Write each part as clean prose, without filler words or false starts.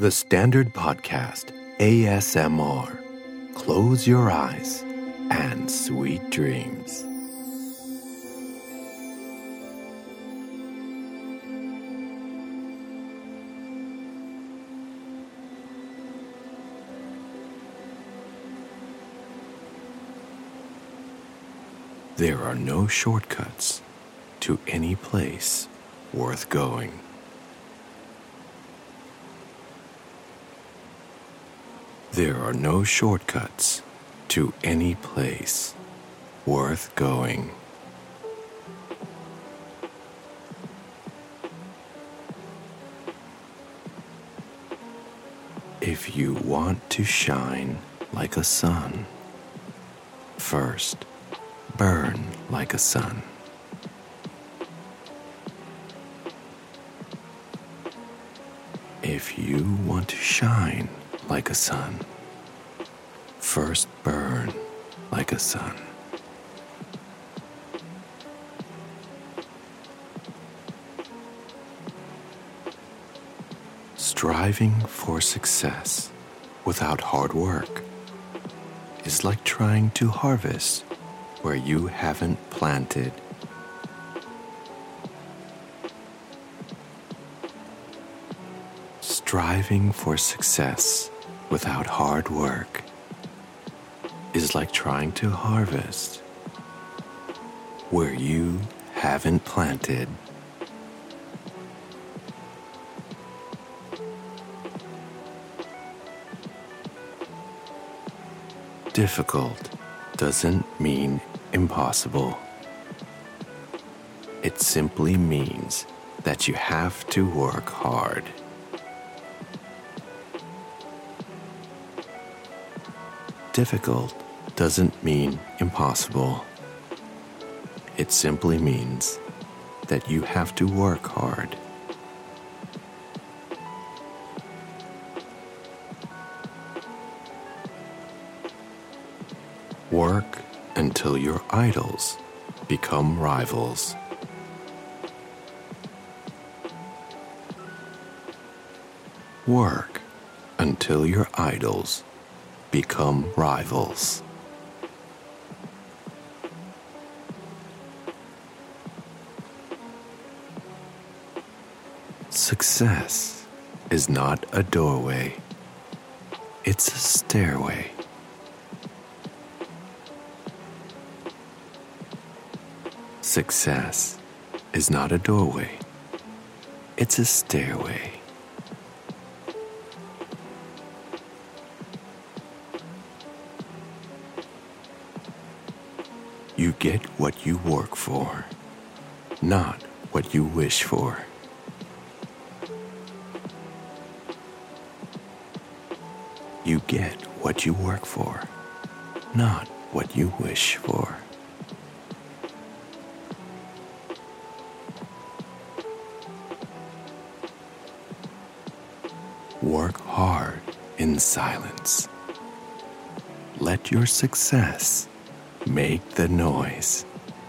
The Standard Podcast ASMR. Close your eyes and sweet dreams. There are no shortcuts to any place worth going. There are no shortcuts to any place worth going. If you want to shine like a sun, first burn like a sun. If you want to shine like a sun, first burn like a sun. Striving for success without hard work is like trying to harvest where you haven't planted. Striving for success without hard work is like trying to harvest where you haven't planted. Difficult doesn't mean impossible. It simply means that you have to work hard. Difficult doesn't mean impossible. It simply means that you have to work hard. Work until your idols become rivals. Work until your idols become rivals. Success is not a doorway, it's a stairway. Success is not a doorway, it's a stairway. You get what you work for, not what you wish for. You get what you work for, not what you wish for. Work hard in silence. Let your success make the noise.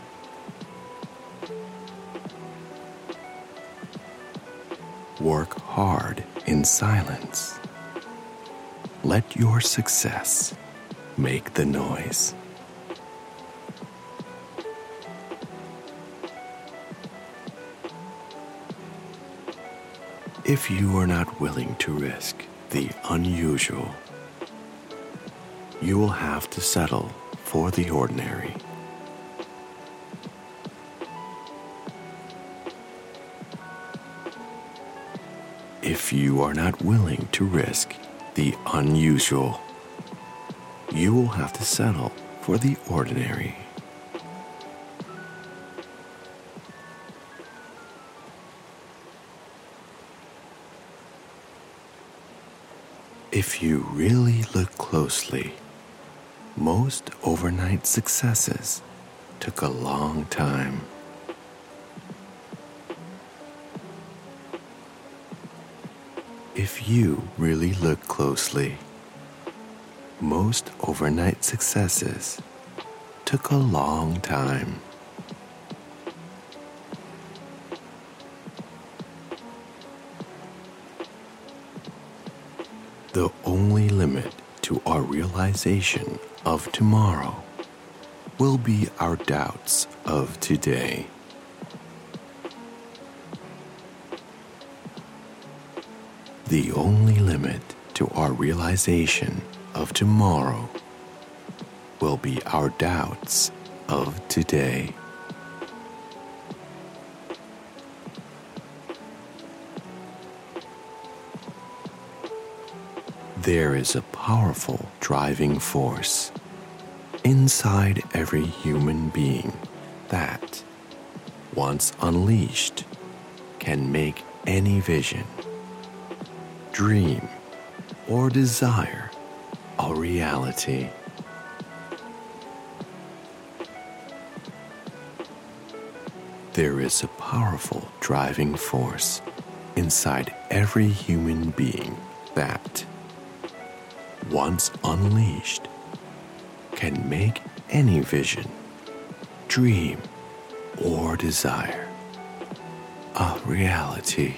Work hard in silence. Let your success make the noise. If you are not willing to risk the unusual, you will have to settle for the ordinary. If you are not willing to risk the unusual, you will have to settle for the ordinary. If you really look closely, most overnight successes took a long time. If you really look closely, most overnight successes took a long time. The only limit to our realization of tomorrow will be our doubts of today. The only limit to our realization of tomorrow will be our doubts of today. There is a powerful driving force inside every human being that, once unleashed, can make any vision, dream, or desire a reality. There is a powerful driving force inside every human being that, once unleashed, can make any vision, dream, or desire a reality.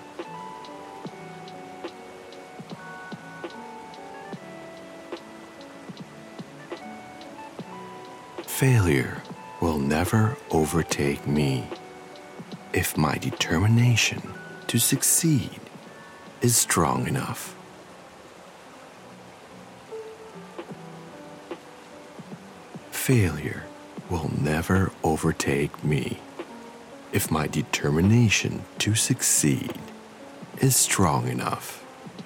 Failure will never overtake me if my determination to succeed is strong enough. Failure will never overtake me if my determination to succeed is strong enough.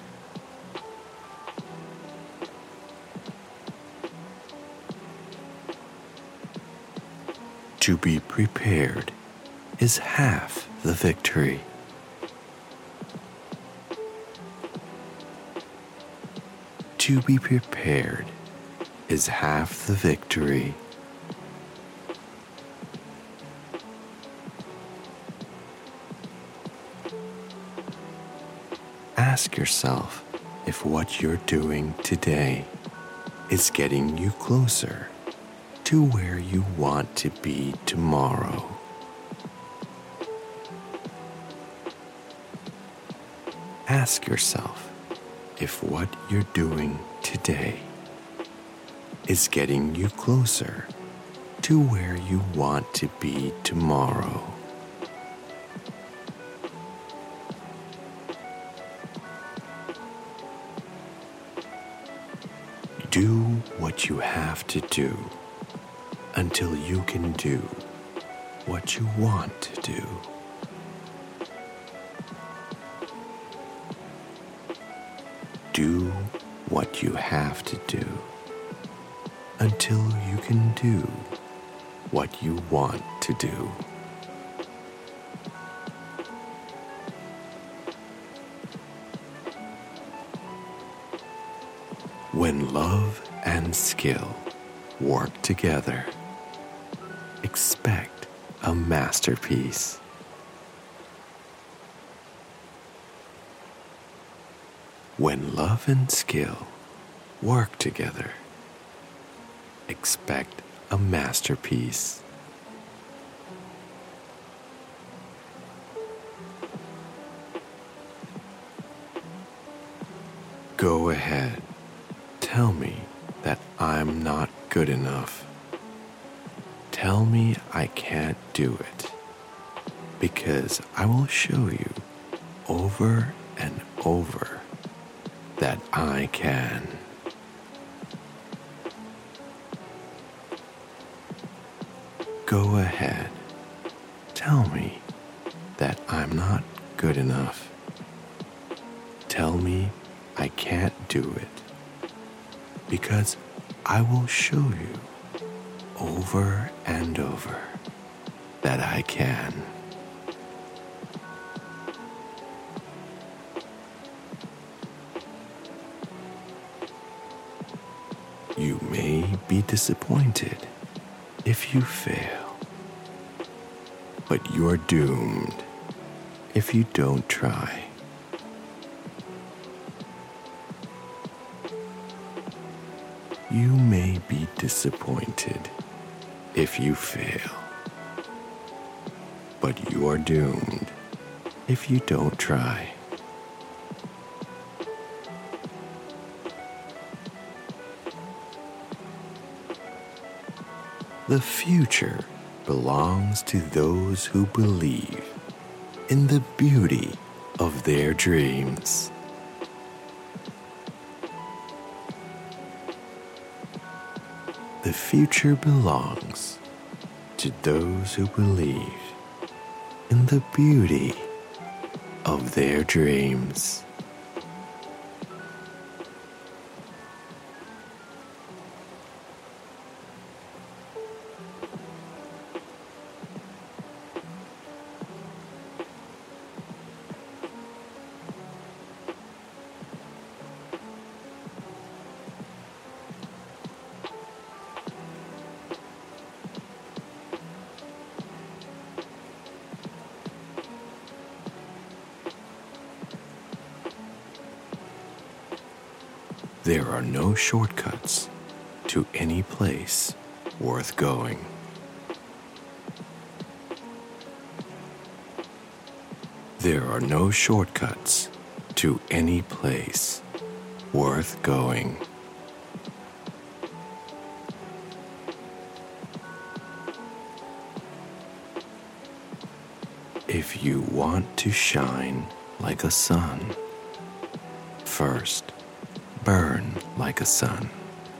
To be prepared is half the victory. To be prepared is half the victory. Ask yourself if what you're doing today is getting you closer to where you want to be tomorrow. Ask yourself if what you're doing today is getting you closer to where you want to be tomorrow. Do what you have to do until you can do what you want to do. Do what you have to do until you can do what you want to do. When love and skill work together, expect a masterpiece. When love and skill work together, expect a masterpiece. Go ahead, tell me that I'm not good enough. Tell me I can't do it, because I will show you over and over that I can. Go ahead, tell me that I'm not good enough. Tell me I can't do it, because I will show you over and over that I can. You may be disappointed if you fail, but you're doomed if you don't try. You may be disappointed if you fail, but you are doomed if you don't try. The future belongs to those who believe in the beauty of their dreams. The future belongs to those who believe in the beauty of their dreams. There are no shortcuts to any place worth going. There are no shortcuts to any place worth going. If you want to shine like a sun, first burn like a sun.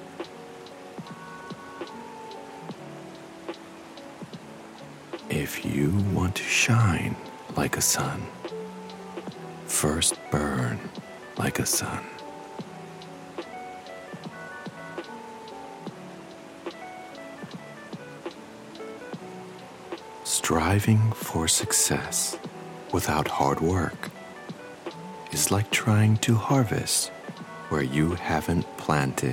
If you want to shine like a sun, first burn like a sun. Striving for success without hard work is like trying to harvest where you haven't planted.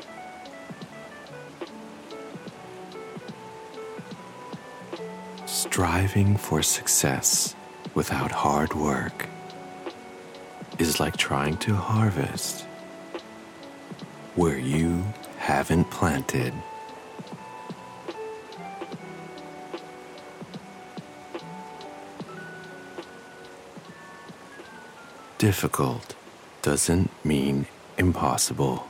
Striving for success without hard work is like trying to harvest where you haven't planted. Difficult doesn't mean impossible.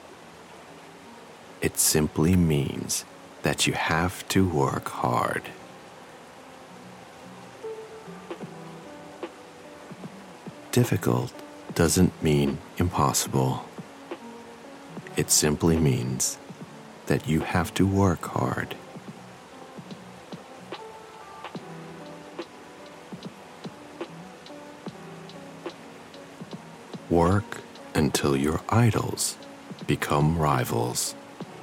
It simply means that you have to work hard. Difficult doesn't mean impossible. It simply means that you have to work hard. Work until your idols become rivals.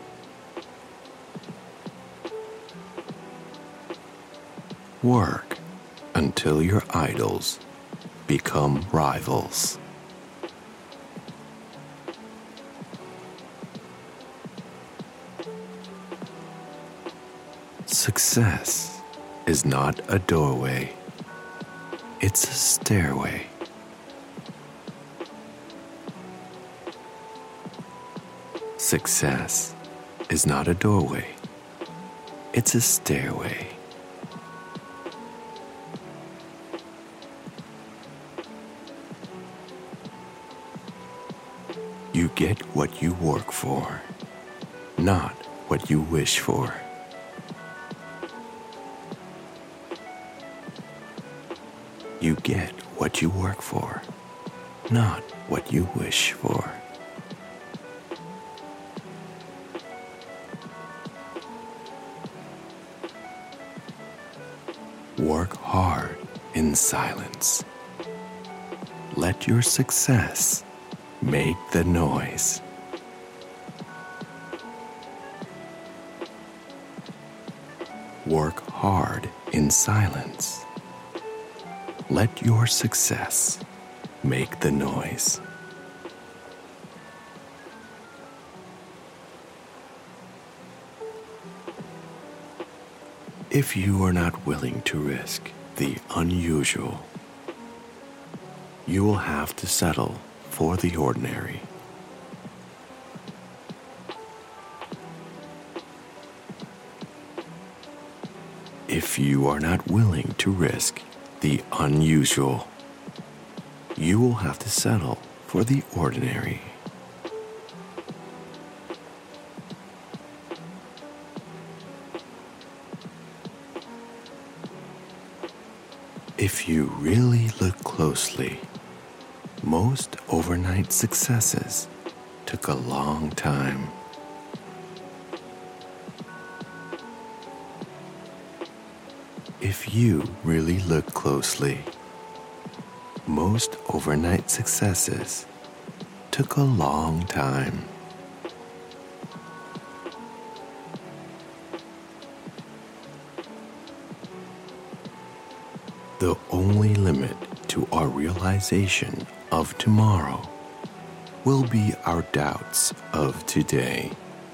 Work until your idols become rivals. Success is not a doorway, it's a stairway. Success is not a doorway, it's a stairway. You get what you work for, not what you wish for. You get what you work for, not what you wish for. Work hard in silence. Let your success make the noise. Work hard in silence. Let your success make the noise. If you are not willing to risk the unusual, you will have to settle for the ordinary. If you are not willing to risk the unusual, you will have to settle for the ordinary. If you really look closely, most overnight successes took a long time. If you really look closely, most overnight successes took a long time. The only limit to our realization of tomorrow will be our doubts of today.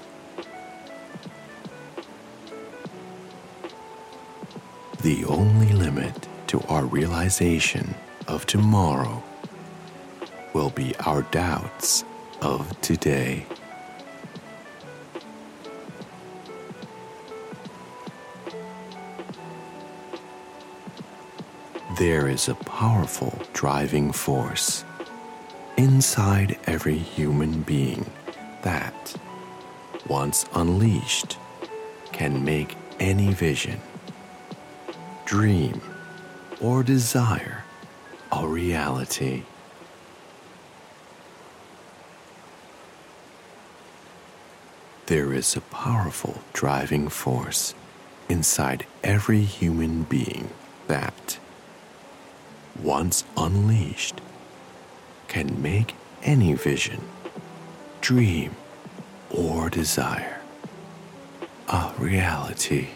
The only limit to our realization of tomorrow will be our doubts of today. There is a powerful driving force inside every human being that, once unleashed, can make any vision, dream, or desire a reality. There is a powerful driving force inside every human being that, once unleashed, can make any vision, dream, or desire a reality.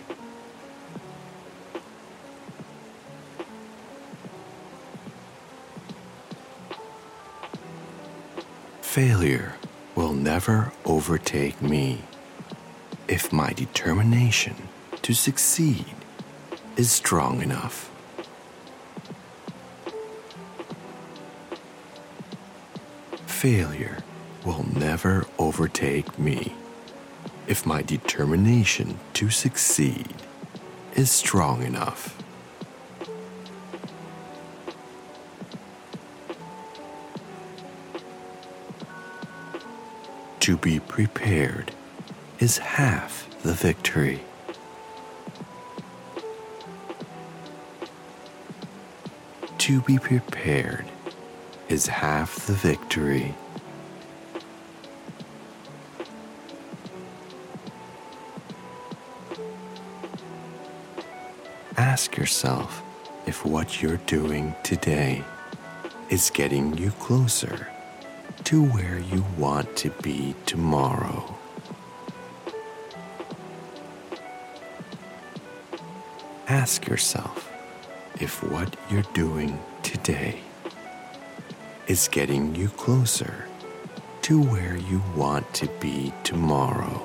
Failure will never overtake me if my determination to succeed is strong enough. Failure will never overtake me if my determination to succeed is strong enough. To be prepared is half the victory. To be prepared is half the victory. Ask yourself if what you're doing today is getting you closer to where you want to be tomorrow. Ask yourself if what you're doing today is getting you closer to where you want to be tomorrow.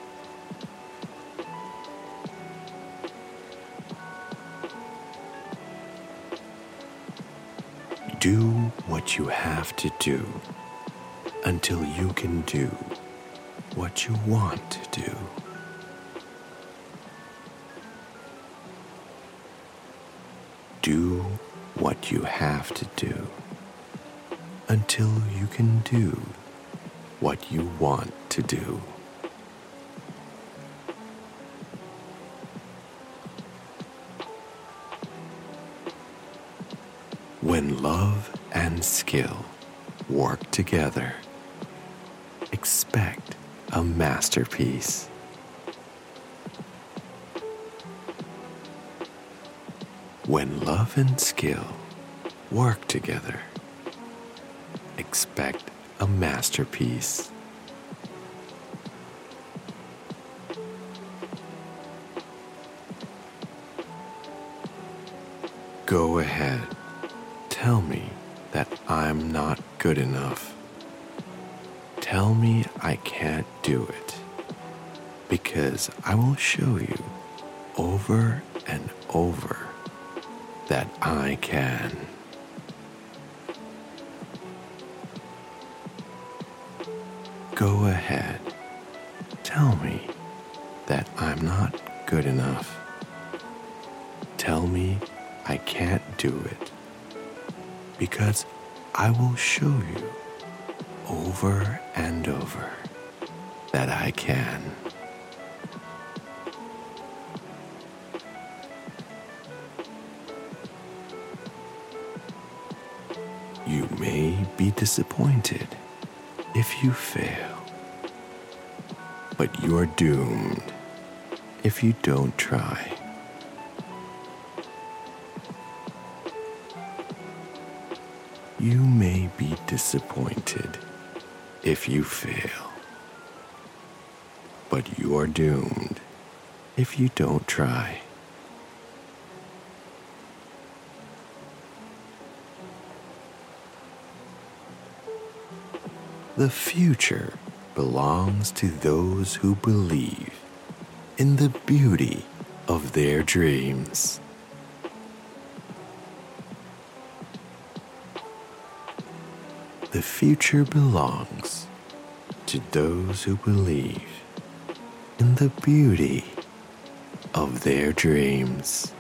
Do what you have to do until you can do what you want to do. Do what you have to do until you can do what you want to do. When love and skill work together, expect a masterpiece. When love and skill work together, expect a masterpiece. Go ahead, tell me that I'm not good enough. Tell me I can't do it, because I will show you over and over that I can. Go ahead, tell me that I'm not good enough. Tell me I can't do it, because I will show you over and over that I can. be disappointed if you fail, but you're doomed if you don't try. You may be disappointed if you fail, but you're doomed if you don't try. The future belongs to those who believe in the beauty of their dreams. The future belongs to those who believe in the beauty of their dreams.